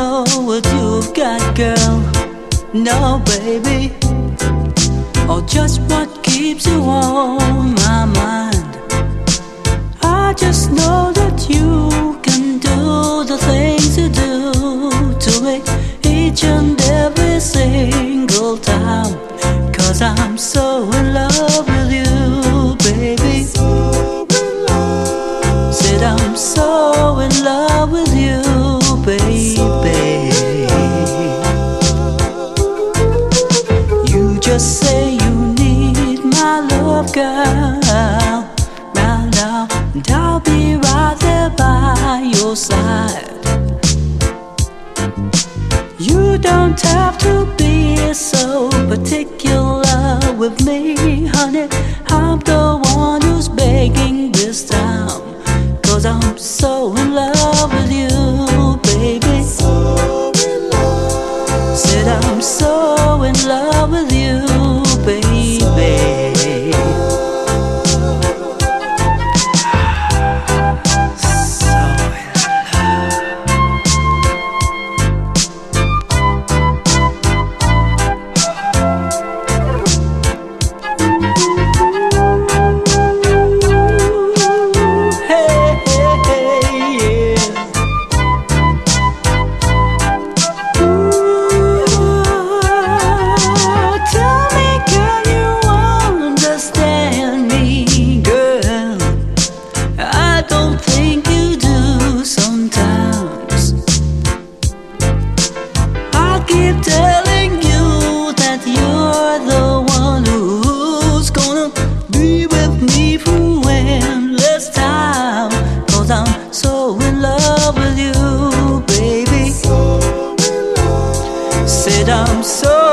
know what you've got, girl. No, baby. Or just what keeps you on my mind. I just know that you can do the things you do to me each and every single time. 'Cause I'm so in love with you, baby. Said I'm so in love with you, baby. You just say you need my love, girl. Right now, and I'll be right there by your side. You don't have to be so particular with me, honey. I'm the one who's begging this time. 'Cause I'm so in love with you, baby. Said I'm so in love with you, baby. Keep telling you that you're the one who's gonna be with me for endless time. 'Cause I'm so in love with you, baby. Said I'm so